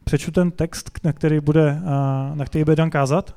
přečtu ten text, na který bude Dan kázat.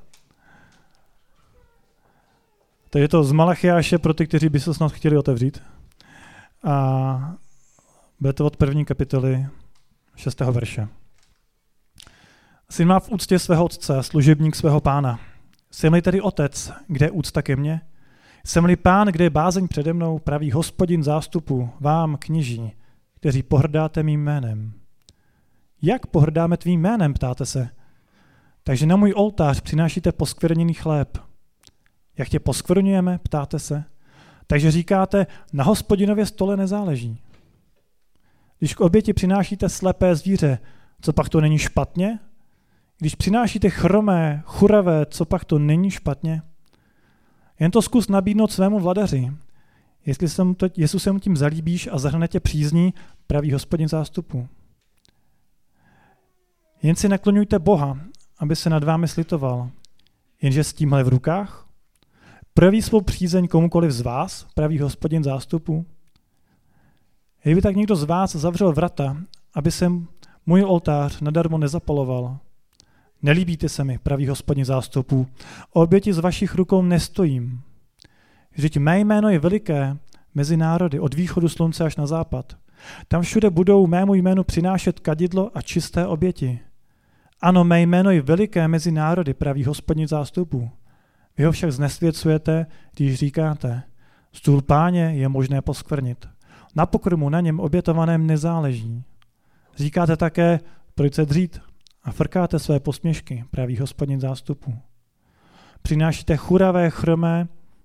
Takže je to z Malachiáše pro ty, kteří by se snad chtěli otevřít. A bude to od 1. kapitoly 6. verše. Syn má v úctě svého otce, služebník svého pána. Jsem-li tedy otec, kde je úcta ke mně? Jsem-li pán, kde je bázeň přede mnou, pravý Hospodin zástupu, vám, kněží, kteří pohrdáte mým jménem. Jak pohrdáme tvým jménem, ptáte se? Takže na můj oltář přinášíte poskvrněný chléb. Jak tě poskvrňujeme, ptáte se? Takže říkáte, na Hospodinově stole nezáleží. Když k oběti přinášíte slepé zvíře, co pak to není špatně? Když přinášíte chromé, churavé, co pak to není špatně? Jen to zkus nabídnout svému vladaři. Jestli se mu tím zalíbíš a zahrne tě přízní, pravý Hospodin zástupu. Jen si nakloňujte Boha, aby se nad vámi slitoval. Jenže s tímhle v rukách? Projeví svou přízeň komukoliv z vás, pravý Hospodin zástupu? Kdyby tak někdo z vás zavřel vrata, aby se můj oltář nadarmo nezapaloval. Nelíbíte se mi, pravý Hospodin zástupů, o oběti z vašich rukou nestojím. Vždyť mé jméno je veliké mezi národy, od východu slunce až na západ. Tam všude budou mému jménu přinášet kadidlo a čisté oběti. Ano, mé jméno je veliké mezi národy, pravý Hospodin zástupů. Vy ho však znesvěcujete, když říkáte, stůl Páně je možné poskvrnit. Na pokrmu na něm obětovaném nezáleží. Říkáte také, proč se dřít a frkáte své posměšky, pravý Hospodin zástupu. Přinášíte churavé, chromé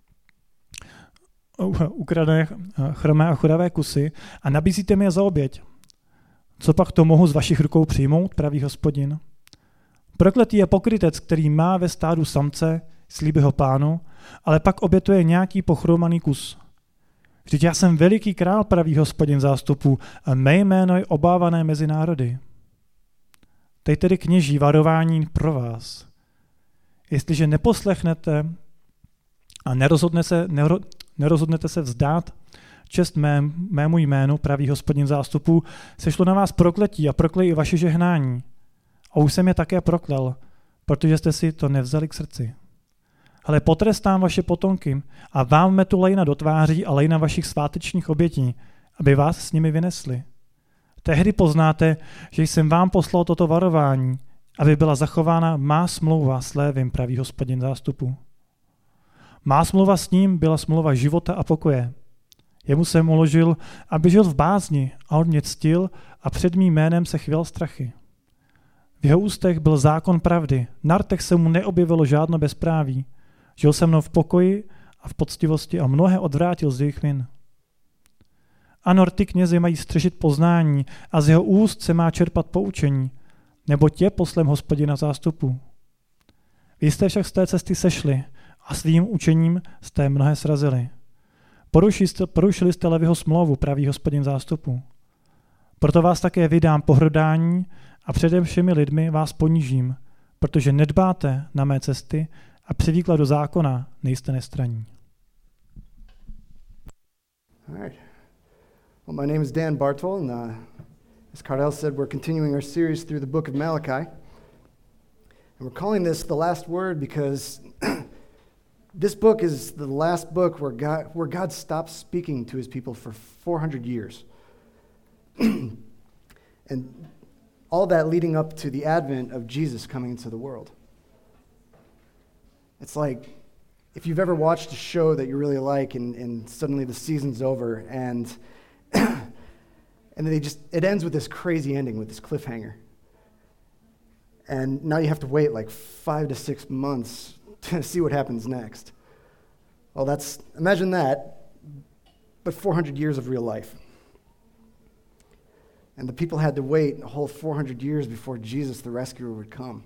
a churavé kusy a nabízíte mi je za oběť. Co pak to mohu z vašich rukou přijmout, pravý Hospodin? Prokletý je pokrytec, který má ve stádu samce, slíbí ho pánu, ale pak obětuje nějaký pochromaný kus. Vždyť já jsem veliký král, pravý Hospodin zástupů, a mé jméno je obávané mezi národy. Teď tedy kněží varování pro vás. Jestliže neposlechnete a nerozhodnete se vzdát čest mému jménu, pravý Hospodin zástupů, sešlo na vás prokletí a proklej i vaše žehnání. A už jsem je také proklel, protože jste si to nevzali k srdci. Ale potrestám vaše potomky a vám metu lejna do tváří a lejna vašich svátečních obětí, aby vás s nimi vynesli. Tehdy poznáte, že jsem vám poslal toto varování, aby byla zachována má smlouva s Lévim, pravý Hospodin zástupu. Má smlouva s ním byla smlouva života a pokoje. Jemu jsem uložil, aby žil v bázni a on mě ctil a před mým jménem se chvěl strachy. V jeho ústech byl zákon pravdy, na rtech se mu neobjevilo žádno bezpráví. Žil se mnou v pokoji a v poctivosti a mnohé odvrátil z jejich vin. Ano, rty knězi mají střežit poznání a z jeho úst se má čerpat poučení, nebo tě poslem Hospodina zástupu. Vy jste však z té cesty sešli a svým učením jste mnohé srazili. Porušili jste Leviho smlouvu, pravý Hospodin zástupu. Proto vás také vydám pohrdání a přede všemi lidmi vás ponížím, protože nedbáte na mé cesty a při výkladu zákona nejste nestranní. All right. Well, my name is Dan Bartol, and as Cardell said, we're continuing our series through the book of Malachi. And we're calling this The Last Word because this book is the last book where God stops speaking to his people for 400 years. And all that leading up to the advent of Jesus coming into the world. It's like if you've ever watched a show that you really like and suddenly the season's over and it ends with this crazy ending, with this cliffhanger. And now you have to wait like 5 to 6 months to see what happens next. Well, imagine that, but 400 years of real life. And the people had to wait a whole 400 years before Jesus, the rescuer, would come.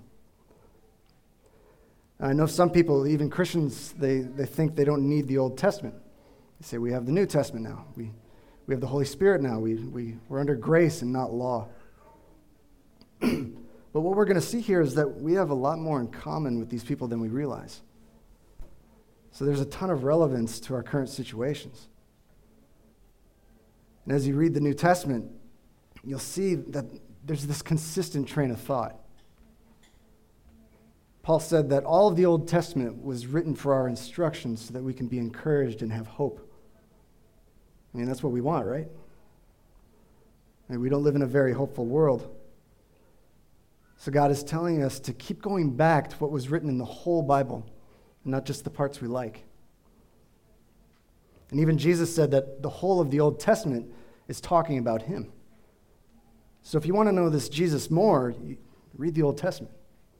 I know some people, even Christians, they think they don't need the Old Testament. They say, we have the New Testament now. We have the Holy Spirit now. We're under grace and not law. But what we're going to see here is that we have a lot more in common with these people than we realize. So there's a ton of relevance to our current situations. And as you read the New Testament, you'll see that there's this consistent train of thought. Paul said that all of the Old Testament was written for our instruction so that we can be encouraged and have hope. I mean, that's what we want, right? I mean, we don't live in a very hopeful world. So God is telling us to keep going back to what was written in the whole Bible, and not just the parts we like. And even Jesus said that the whole of the Old Testament is talking about him. So if you want to know this Jesus more, read the Old Testament.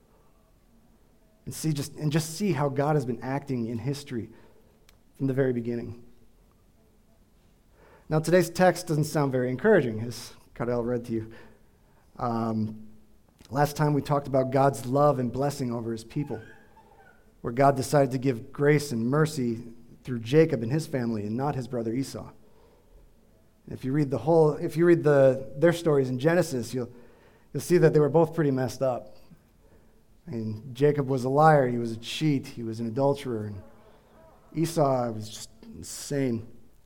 And just see how God has been acting in history from the very beginning. Now, today's text doesn't sound very encouraging, as Cardell read to you. Last time we talked about God's love and blessing over his people, where God decided to give grace and mercy through Jacob and his family and not his brother Esau. If you read their stories in Genesis, you'll see that they were both pretty messed up. I mean, Jacob was a liar, he was a cheat, he was an adulterer, and Esau was just insane.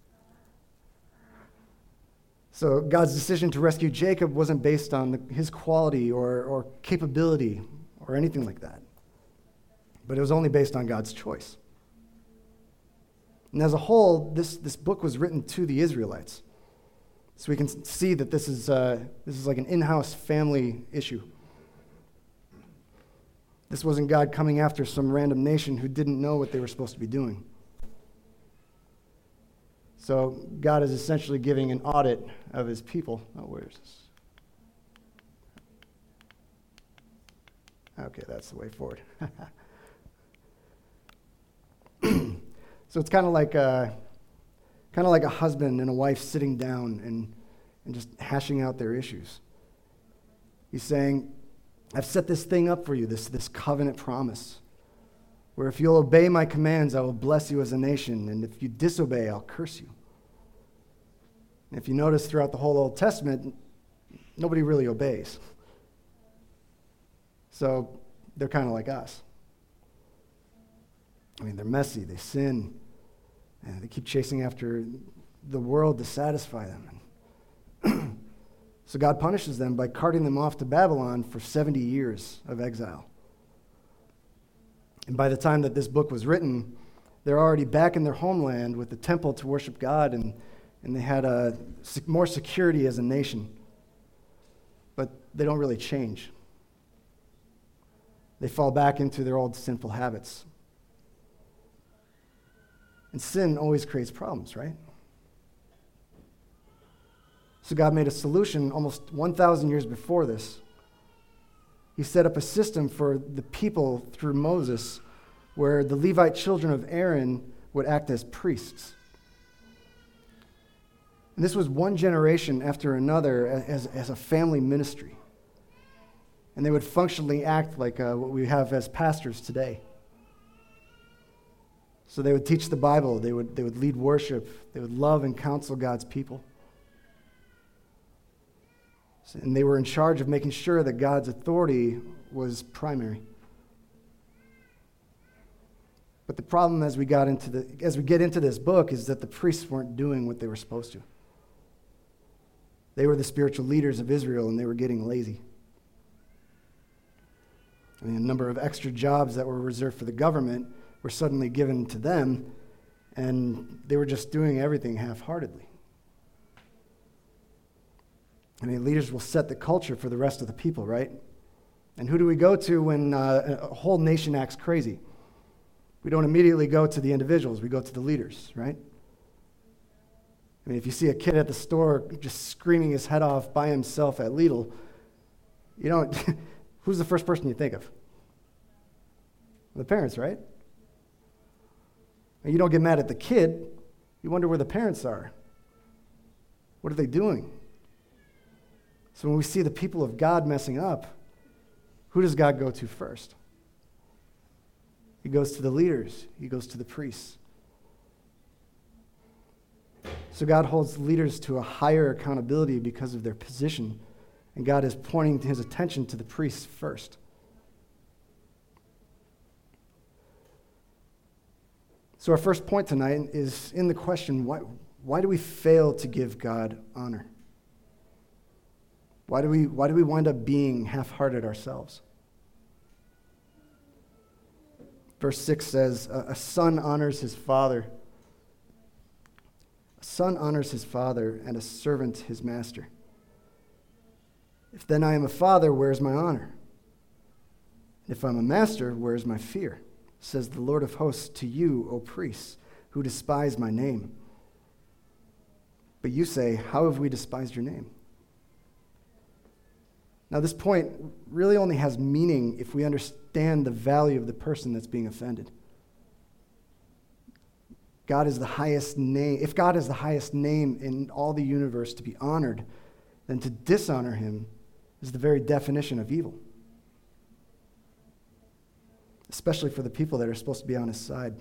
So God's decision to rescue Jacob wasn't based on his quality or capability or anything like that, but it was only based on God's choice. And as a whole, this book was written to the Israelites. So we can see that this is like an in-house family issue. This wasn't God coming after some random nation who didn't know what they were supposed to be doing. So God is essentially giving an audit of his people. Oh, where is this? Okay, that's the way forward. So it's kind of like a husband and a wife sitting down and just hashing out their issues. He's saying, I've set this thing up for you, this covenant promise, where if you'll obey my commands, I will bless you as a nation, and if you disobey, I'll curse you. And if you notice throughout the whole Old Testament, nobody really obeys. So they're kind of like us. I mean, they're messy, they sin, and they keep chasing after the world to satisfy them. So God punishes them by carting them off to Babylon for 70 years of exile. And by the time that this book was written, they're already back in their homeland with the temple to worship God, and they had more security as a nation. But they don't really change. They fall back into their old sinful habits. And sin always creates problems, right? So God made a solution almost 1,000 years before this. He set up a system for the people through Moses where the Levite children of Aaron would act as priests. And this was one generation after another as a family ministry. And they would functionally act like what we have as pastors today. So they would teach the Bible, they would lead worship, they would love and counsel God's people. And they were in charge of making sure that God's authority was primary. But the problem as we get into this book is that the priests weren't doing what they were supposed to. They were the spiritual leaders of Israel, and they were getting lazy. I mean, a number of extra jobs that were reserved for the government were suddenly given to them, and they were just doing everything half-heartedly. I mean, leaders will set the culture for the rest of the people, right? And who do we go to when a whole nation acts crazy? We don't immediately go to the individuals, we go to the leaders, right? I mean, if you see a kid at the store just screaming his head off by himself at Lidl, you don't, who's the first person you think of? The parents, right? And you don't get mad at the kid, you wonder where the parents are. What are they doing? So when we see the people of God messing up, who does God go to first? He goes to the leaders. He goes to the priests. So God holds leaders to a higher accountability because of their position, and God is pointing his attention to the priests first. So our first point tonight is in the question, why do we fail to give God honor? Why do we wind up being half-hearted ourselves? Verse 6 says, a son honors his father. A son honors his father, and a servant his master. If then I am a father, where is my honor? If I'm a master, where is my fear? Says the Lord of hosts to you, O priests, who despise my name. But you say, how have we despised your name? Now, this point really only has meaning if we understand the value of the person that's being offended. God is the highest name. If God is the highest name in all the universe to be honored, then to dishonor him is the very definition of evil, especially for the people that are supposed to be on his side.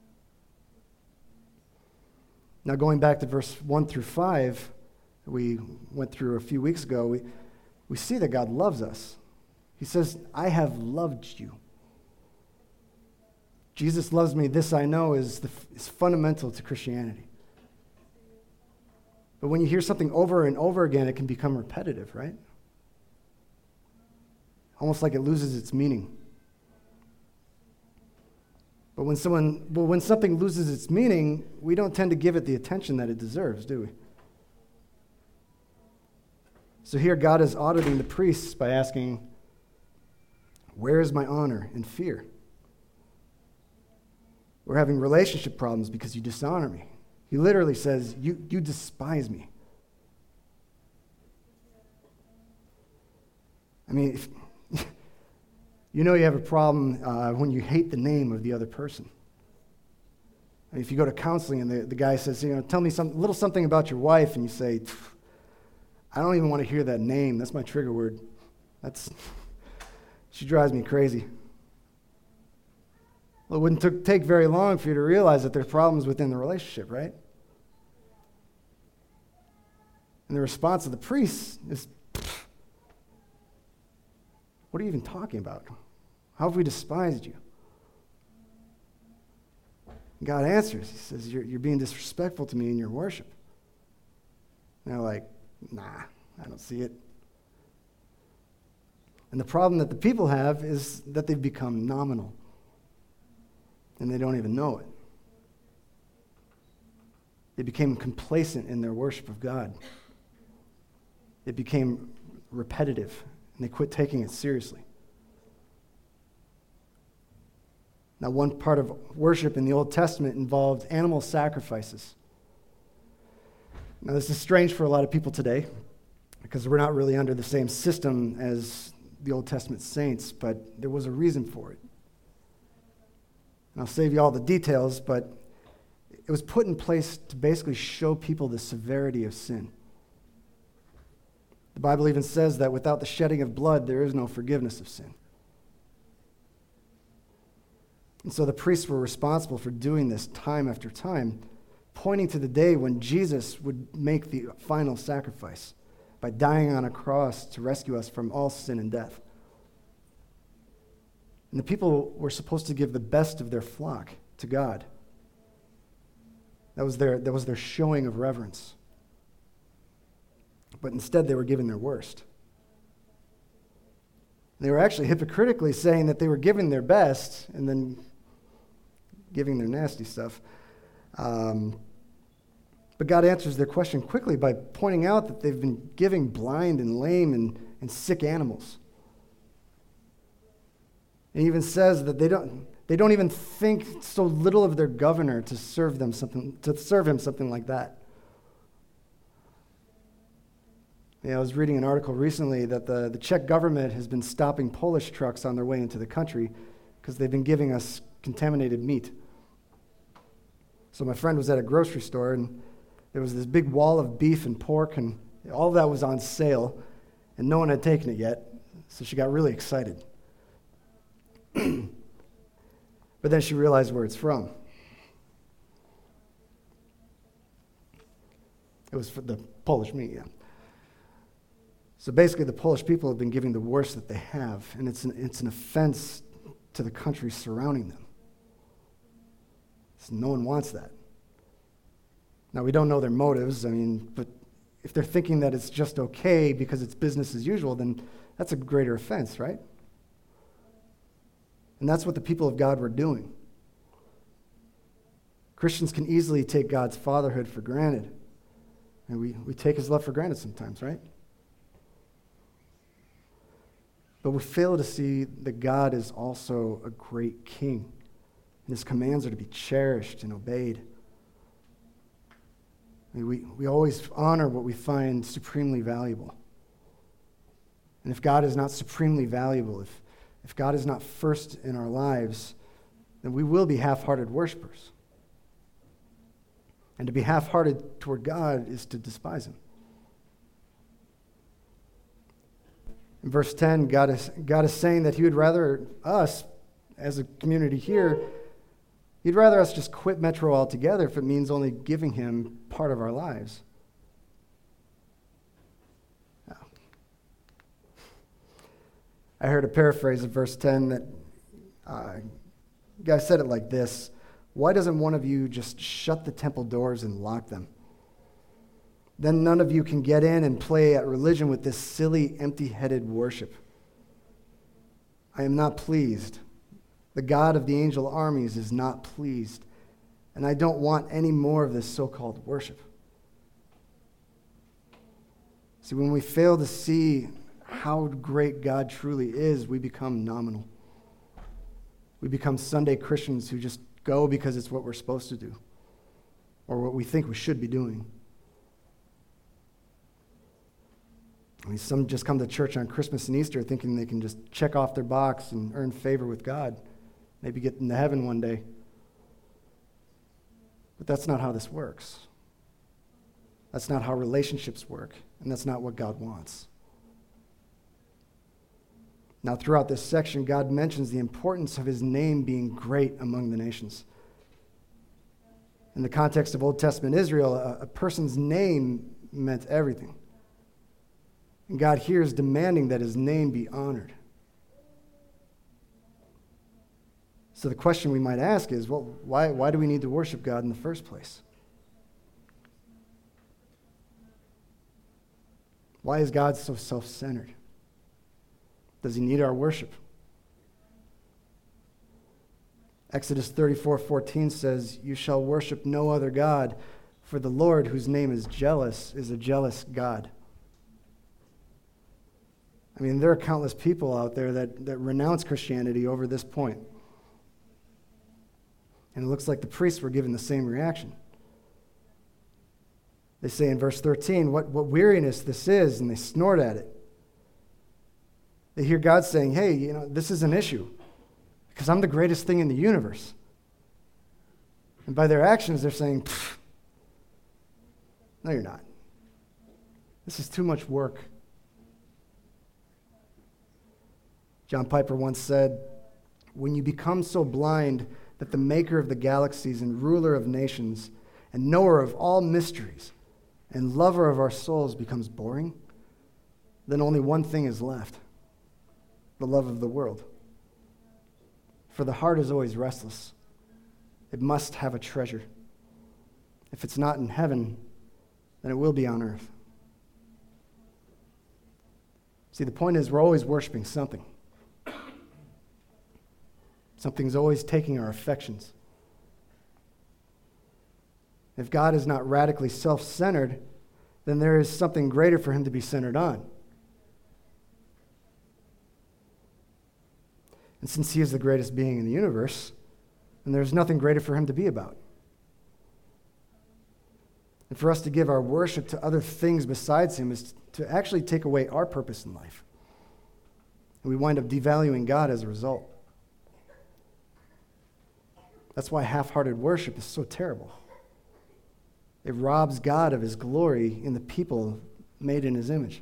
Now, going back to verse 1 through 5, we went through a few weeks ago, we see that God loves us. He says, I have loved you. Jesus loves me, this I know, is fundamental to Christianity. But when you hear something over and over again, it can become repetitive, right? Almost like it loses its meaning. But when something loses its meaning, we don't tend to give it the attention that it deserves, do we? So here God is auditing the priests by asking, where is my honor and fear? We're having relationship problems because you dishonor me. He literally says, you despise me. I mean, you know you have a problem when you hate the name of the other person. I mean, if you go to counseling and the guy says, tell me little something about your wife, and you say, I don't even want to hear that name. That's my trigger word. She drives me crazy. Well, it wouldn't take very long for you to realize that there's problems within the relationship, right? And the response of the priest is, what are you even talking about? How have we despised you? And God answers. He says, you're being disrespectful to me in your worship. And they're like, nah, I don't see it. And the problem that the people have is that they've become nominal. And they don't even know it. They became complacent in their worship of God. It became repetitive, and they quit taking it seriously. Now, one part of worship in the Old Testament involved animal sacrifices. Now, this is strange for a lot of people today because we're not really under the same system as the Old Testament saints, but there was a reason for it. And I'll save you all the details, but it was put in place to basically show people the severity of sin. The Bible even says that without the shedding of blood, there is no forgiveness of sin. And so the priests were responsible for doing this time after time, pointing to the day when Jesus would make the final sacrifice by dying on a cross to rescue us from all sin and death. And the people were supposed to give the best of their flock to God. That was their showing of reverence. But instead, they were giving their worst. They were actually hypocritically saying that they were giving their best and then giving their nasty stuff. But God answers their question quickly by pointing out that they've been giving blind and lame and sick animals. And he even says that they don't even think so little of their governor to serve him something like that. I was reading an article recently that the Czech government has been stopping Polish trucks on their way into the country because they've been giving us contaminated meat. So my friend was at a grocery store, and there was this big wall of beef and pork, and all of that was on sale, and no one had taken it yet, so she got really excited. But then she realized where it's from. It was for the Polish meat, yeah. So basically, the Polish people have been giving the worst that they have, and it's an offense to the countries surrounding them. So no one wants that. Now, we don't know their motives, but if they're thinking that it's just okay because it's business as usual, then that's a greater offense, right? And that's what the people of God were doing. Christians can easily take God's fatherhood for granted. And we take his love for granted sometimes, right? But we fail to see that God is also a great king. And his commands are to be cherished and obeyed. I mean, we always honor what we find supremely valuable. And if God is not supremely valuable, if God is not first in our lives, then we will be half-hearted worshipers. And to be half-hearted toward God is to despise him. In verse 10, God is saying that he would rather us, as a community here, he'd rather us just quit Metro altogether if it means only giving him part of our lives. I heard a paraphrase of verse 10 that guy said it like this: why doesn't one of you just shut the temple doors and lock them? Then none of you can get in and play at religion with this silly, empty-headed worship. I am not pleased. The God of the angel armies is not pleased, and I don't want any more of this so-called worship. See, when we fail to see how great God truly is, we become nominal. We become Sunday Christians who just go because it's what we're supposed to do, or what we think we should be doing. I mean, some just come to church on Christmas and Easter thinking they can just check off their box and earn favor with God, maybe get into heaven one day. But that's not how this works. That's not how relationships work, and that's not what God wants. Now, throughout this section, God mentions the importance of his name being great among the nations. In the context of Old Testament Israel, a person's name meant everything. And God here is demanding that his name be honored. So the question we might ask is, well, why do we need to worship God in the first place? Why is God so self-centered? Does he need our worship? Exodus 34:14 says, "You shall worship no other God, for the Lord, whose name is jealous, is a jealous God." I mean, there are countless people out there that renounce Christianity over this point. And it looks like the priests were given the same reaction. They say in verse 13, what weariness this is, and they snort at it. They hear God saying, hey, this is an issue, because I'm the greatest thing in the universe. And by their actions, they're saying, no, you're not. This is too much work. John Piper once said, when you become so blind that the maker of the galaxies and ruler of nations and knower of all mysteries and lover of our souls becomes boring, then only one thing is left: the love of the world. For the heart is always restless. It must have a treasure. If it's not in heaven, then it will be on earth. See, the point is we're always worshiping something. Something's always taking our affections. If God is not radically self-centered, then there is something greater for him to be centered on. And since he is the greatest being in the universe, then there's nothing greater for him to be about. And for us to give our worship to other things besides him is to actually take away our purpose in life. And we wind up devaluing God as a result. That's why half-hearted worship is so terrible. It robs God of his glory in the people made in his image.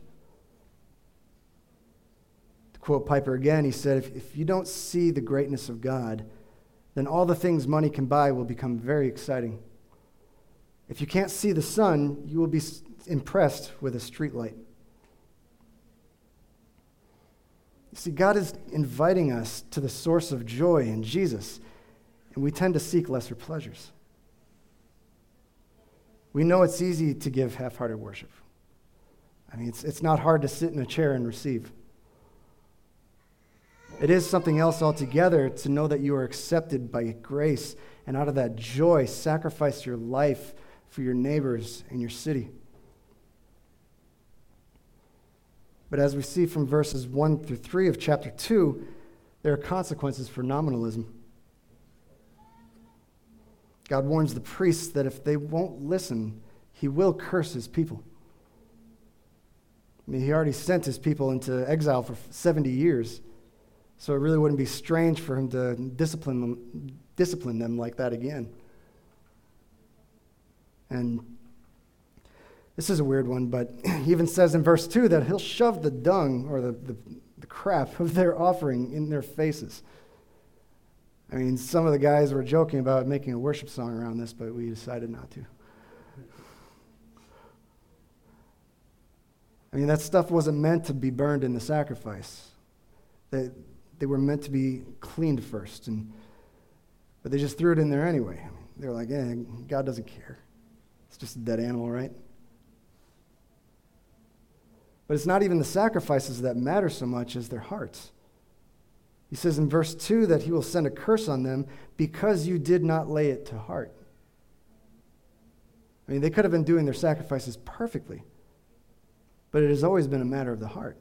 To quote Piper again, he said, if you don't see the greatness of God, then all the things money can buy will become very exciting. If you can't see the sun, you will be impressed with a streetlight. You see, God is inviting us to the source of joy in Jesus, and we tend to seek lesser pleasures. We know it's easy to give half-hearted worship. I mean, it's not hard to sit in a chair and receive. It is something else altogether to know that you are accepted by grace, and out of that joy, sacrifice your life for your neighbors and your city. But as we see from verses 1 through 3 of chapter 2, there are consequences for nominalism. God warns the priests that if they won't listen, he will curse his people. I mean, he already sent his people into exile for 70 years, so it really wouldn't be strange for him to discipline them like that again. And this is a weird one, but he even says in verse 2 that he'll shove the dung or the crap of their offering in their faces. I mean, some of the guys were joking about making a worship song around this, but we decided not to. I mean, that stuff wasn't meant to be burned in the sacrifice. They were meant to be cleaned first, but they just threw it in there anyway. I mean, they were like, God doesn't care. It's just a dead animal, right? But it's not even the sacrifices that matter so much as their hearts. He says in verse 2 that he will send a curse on them because you did not lay it to heart. I mean, they could have been doing their sacrifices perfectly, but it has always been a matter of the heart.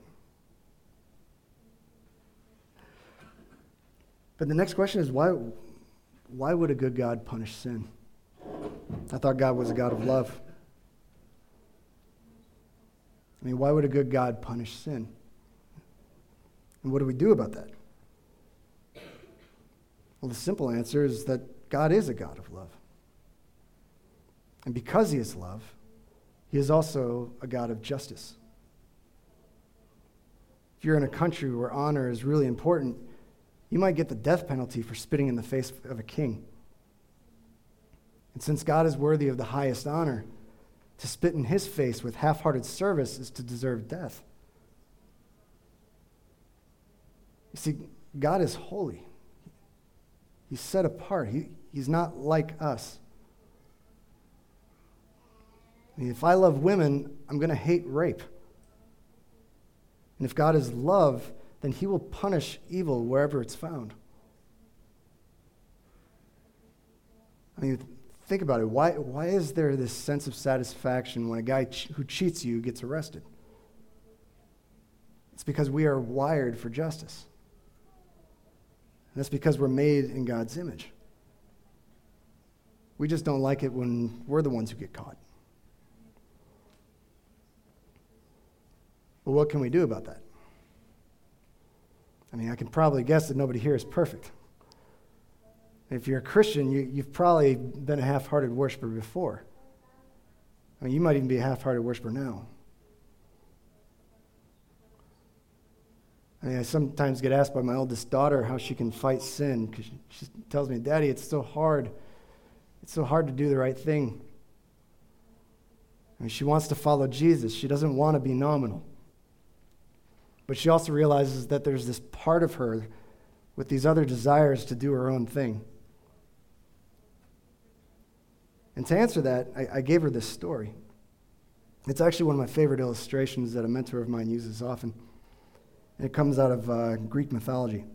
But the next question is, why would a good God punish sin? I thought God was a God of love. I mean, why would a good God punish sin? And what do we do about that? Well, the simple answer is that God is a God of love. And because he is love, he is also a God of justice. If you're in a country where honor is really important, you might get the death penalty for spitting in the face of a king. And since God is worthy of the highest honor, to spit in his face with half-hearted service is to deserve death. You see, God is holy. He's set apart. He's not like us. I mean, if I love women, I'm going to hate rape. And if God is love, then he will punish evil wherever it's found. I mean, think about it. Why is there this sense of satisfaction when a guy who cheats you gets arrested? It's because we are wired for justice. And that's because we're made in God's image. We just don't like it when we're the ones who get caught. But what can we do about that? I mean, I can probably guess that nobody here is perfect. If you're a Christian, you've probably been a half-hearted worshiper before. I mean, you might even be a half-hearted worshiper now. I mean, I sometimes get asked by my oldest daughter how she can fight sin, because she tells me, Daddy, it's so hard. It's so hard to do the right thing. I mean, she wants to follow Jesus. She doesn't want to be nominal. But she also realizes that there's this part of her with these other desires to do her own thing. And to answer that, I gave her this story. It's actually one of my favorite illustrations that a mentor of mine uses often. And it comes out of Greek mythology.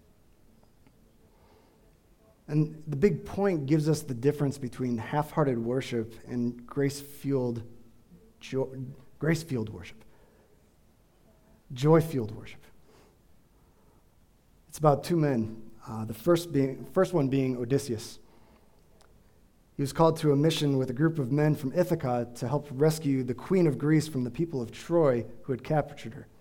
And the big point gives us the difference between half-hearted worship and grace-fueled worship. Joy-fueled worship. It's about two men, the first one being Odysseus. He was called to a mission with a group of men from Ithaca to help rescue the queen of Greece from the people of Troy who had captured her.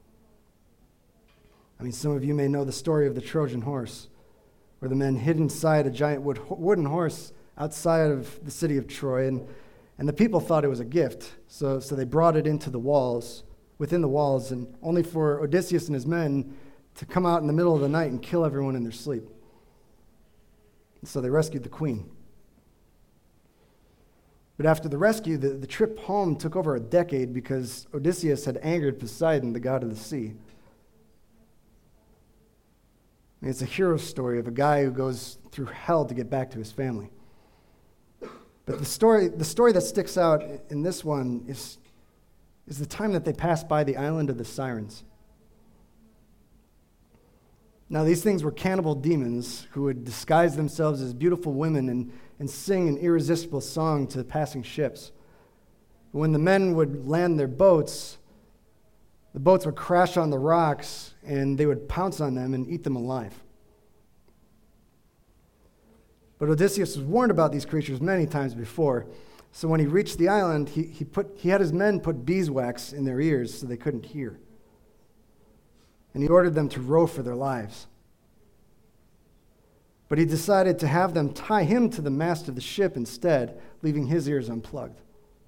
I mean, some of you may know the story of the Trojan horse, where the men hid inside a giant wooden horse outside of the city of Troy, and the people thought it was a gift, so they brought it into the walls, within the walls, and only for Odysseus and his men to come out in the middle of the night and kill everyone in their sleep. And so they rescued the queen. But after the rescue, the trip home took over a decade because Odysseus had angered Poseidon, the god of the sea. I mean, it's a hero story of a guy who goes through hell to get back to his family. But the story that sticks out in this one is is the time that they passed by the island of the Sirens. Now, these things were cannibal demons who would disguise themselves as beautiful women and sing an irresistible song to passing ships. But when the men would land their boats, the boats would crash on the rocks, and they would pounce on them and eat them alive. But Odysseus was warned about these creatures many times before. So when he reached the island, he had his men put beeswax in their ears so they couldn't hear. And he ordered them to row for their lives. But he decided to have them tie him to the mast of the ship instead, leaving his ears unplugged.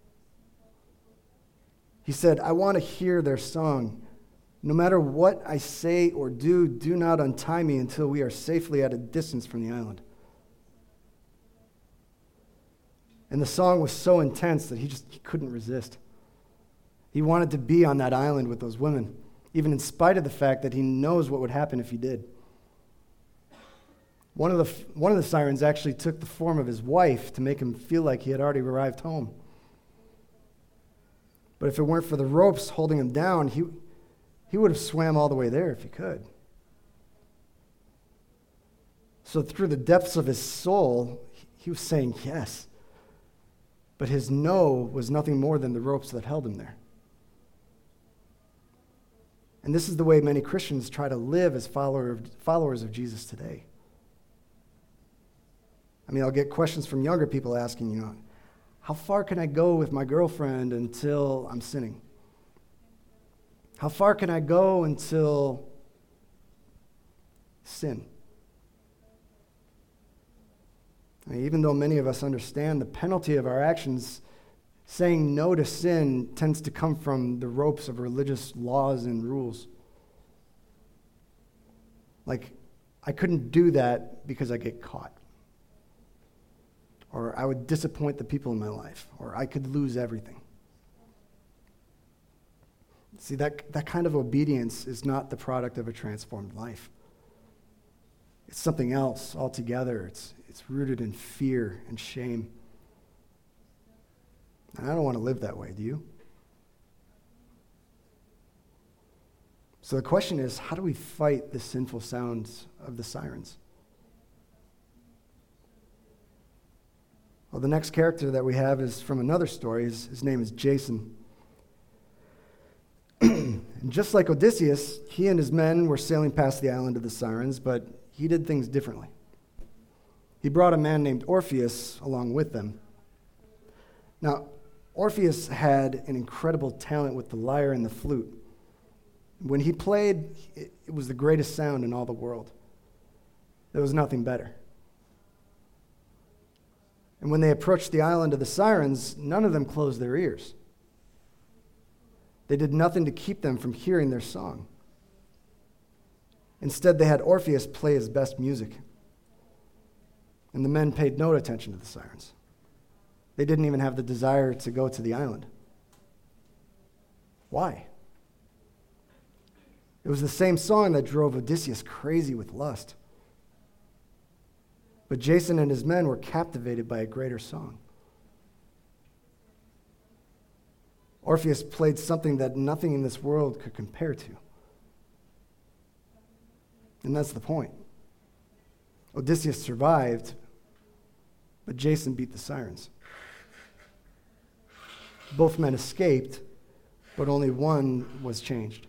He said, "I want to hear their song. No matter what I say or do not untie me until we are safely at a distance from the island." And the song was so intense that he couldn't resist. He wanted to be on that island with those women, even in spite of the fact that he knows what would happen if he did. One of the sirens actually took the form of his wife to make him feel like he had already arrived home. But if it weren't for the ropes holding him down, he would have swam all the way there if he could. So through the depths of his soul, he was saying yes. But his no was nothing more than the ropes that held him there. And this is the way many Christians try to live as followers of Jesus today. I mean, I'll get questions from younger people asking, how far can I go with my girlfriend until I'm sinning? How far can I go until sin? I mean, even though many of us understand the penalty of our actions, saying no to sin tends to come from the ropes of religious laws and rules. Like, I couldn't do that because I get caught. Or I would disappoint the people in my life. Or I could lose everything. See, that kind of obedience is not the product of a transformed life. It's something else altogether. It's rooted in fear and shame. And I don't want to live that way, do you? So the question is, how do we fight the sinful sounds of the sirens? Well, the next character that we have is from another story. His name is Jason. And just like Odysseus, he and his men were sailing past the island of the Sirens, but he did things differently. He brought a man named Orpheus along with them. Now, Orpheus had an incredible talent with the lyre and the flute. When he played, it was the greatest sound in all the world. There was nothing better. And when they approached the island of the Sirens, none of them closed their ears. They did nothing to keep them from hearing their song. Instead, they had Orpheus play his best music. And the men paid no attention to the sirens. They didn't even have the desire to go to the island. Why? It was the same song that drove Odysseus crazy with lust. But Jason and his men were captivated by a greater song. Orpheus played something that nothing in this world could compare to. And that's the point. Odysseus survived, but Jason beat the sirens. Both men escaped, but only one was changed.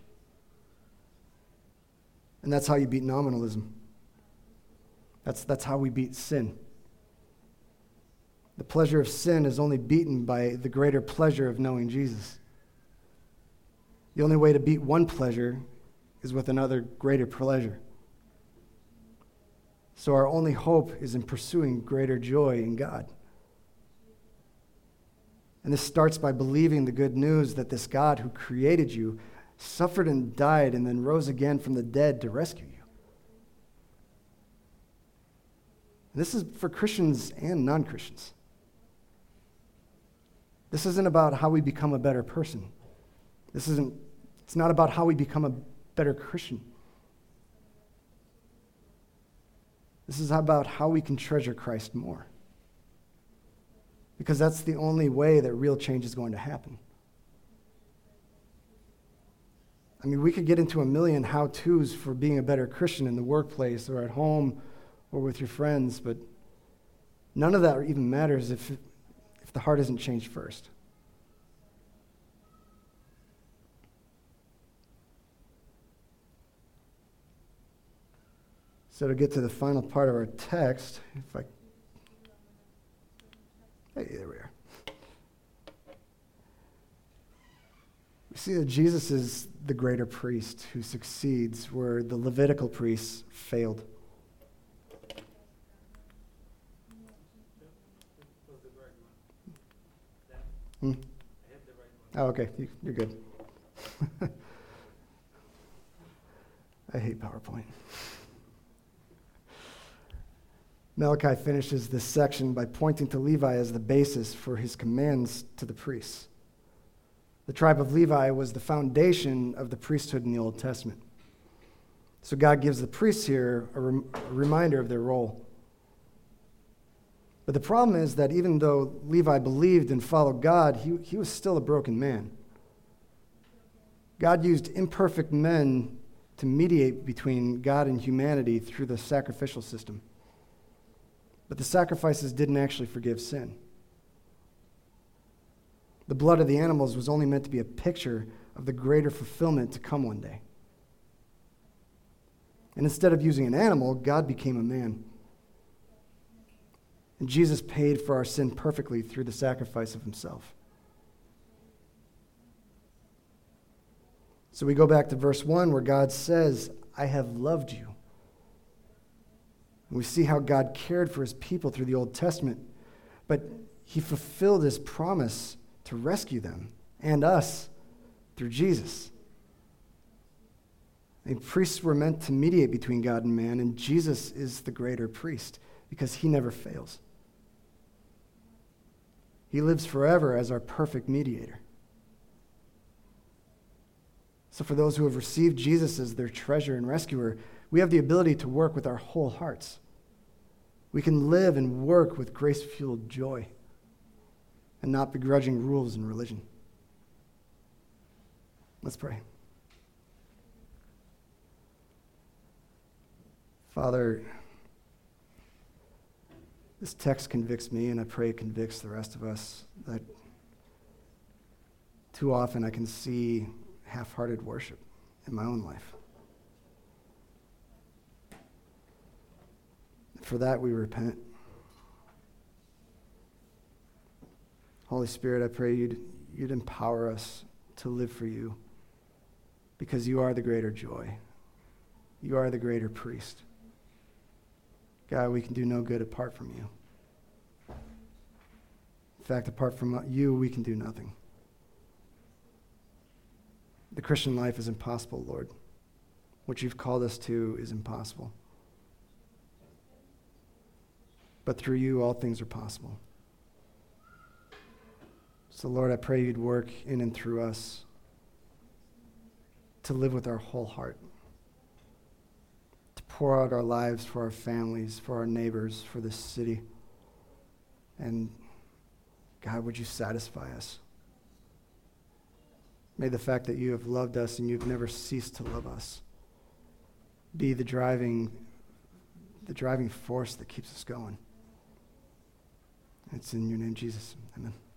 And that's how you beat nominalism. That's how we beat sin. The pleasure of sin is only beaten by the greater pleasure of knowing Jesus. The only way to beat one pleasure is with another greater pleasure. So our only hope is in pursuing greater joy in God. And this starts by believing the good news that this God who created you suffered and died and then rose again from the dead to rescue you. And this is for Christians and non-Christians. This isn't about how we become a better person. It's not about how we become a better Christian. This is about how we can treasure Christ more. Because that's the only way that real change is going to happen. I mean, we could get into a million how-tos for being a better Christian in the workplace or at home or with your friends, but none of that even matters if the heart isn't changed first. So to get to the final part of our text, hey, there we are. We see that Jesus is the greater priest who succeeds where the Levitical priests failed. Oh, okay. You're good. I hate PowerPoint. Malachi finishes this section by pointing to Levi as the basis for his commands to the priests. The tribe of Levi was the foundation of the priesthood in the Old Testament. So God gives the priests here a reminder of their role. But the problem is that even though Levi believed and followed God, he was still a broken man. God used imperfect men to mediate between God and humanity through the sacrificial system. But the sacrifices didn't actually forgive sin. The blood of the animals was only meant to be a picture of the greater fulfillment to come one day. And instead of using an animal, God became a man. And Jesus paid for our sin perfectly through the sacrifice of himself. So we go back to verse 1 where God says, I have loved you. And we see how God cared for his people through the Old Testament, but he fulfilled his promise to rescue them and us through Jesus. And priests were meant to mediate between God and man, and Jesus is the greater priest because he never fails. He lives forever as our perfect mediator. So for those who have received Jesus as their treasure and rescuer, we have the ability to work with our whole hearts. We can live and work with grace-fueled joy and not begrudging rules in religion. Let's pray. Father, this text convicts me, and I pray it convicts the rest of us, that too often I can see half-hearted worship in my own life. For that, we repent. Holy Spirit, I pray you'd empower us to live for you because you are the greater joy. You are the greater priest. God, we can do no good apart from you. In fact, apart from you, we can do nothing. The Christian life is impossible, Lord. What you've called us to is impossible. But through you, all things are possible. So, Lord, I pray you'd work in and through us to live with our whole heart, to pour out our lives for our families, for our neighbors, for this city. And, God, would you satisfy us? May the fact that you have loved us and you've never ceased to love us be the driving force that keeps us going. It's in your name, Jesus. Amen.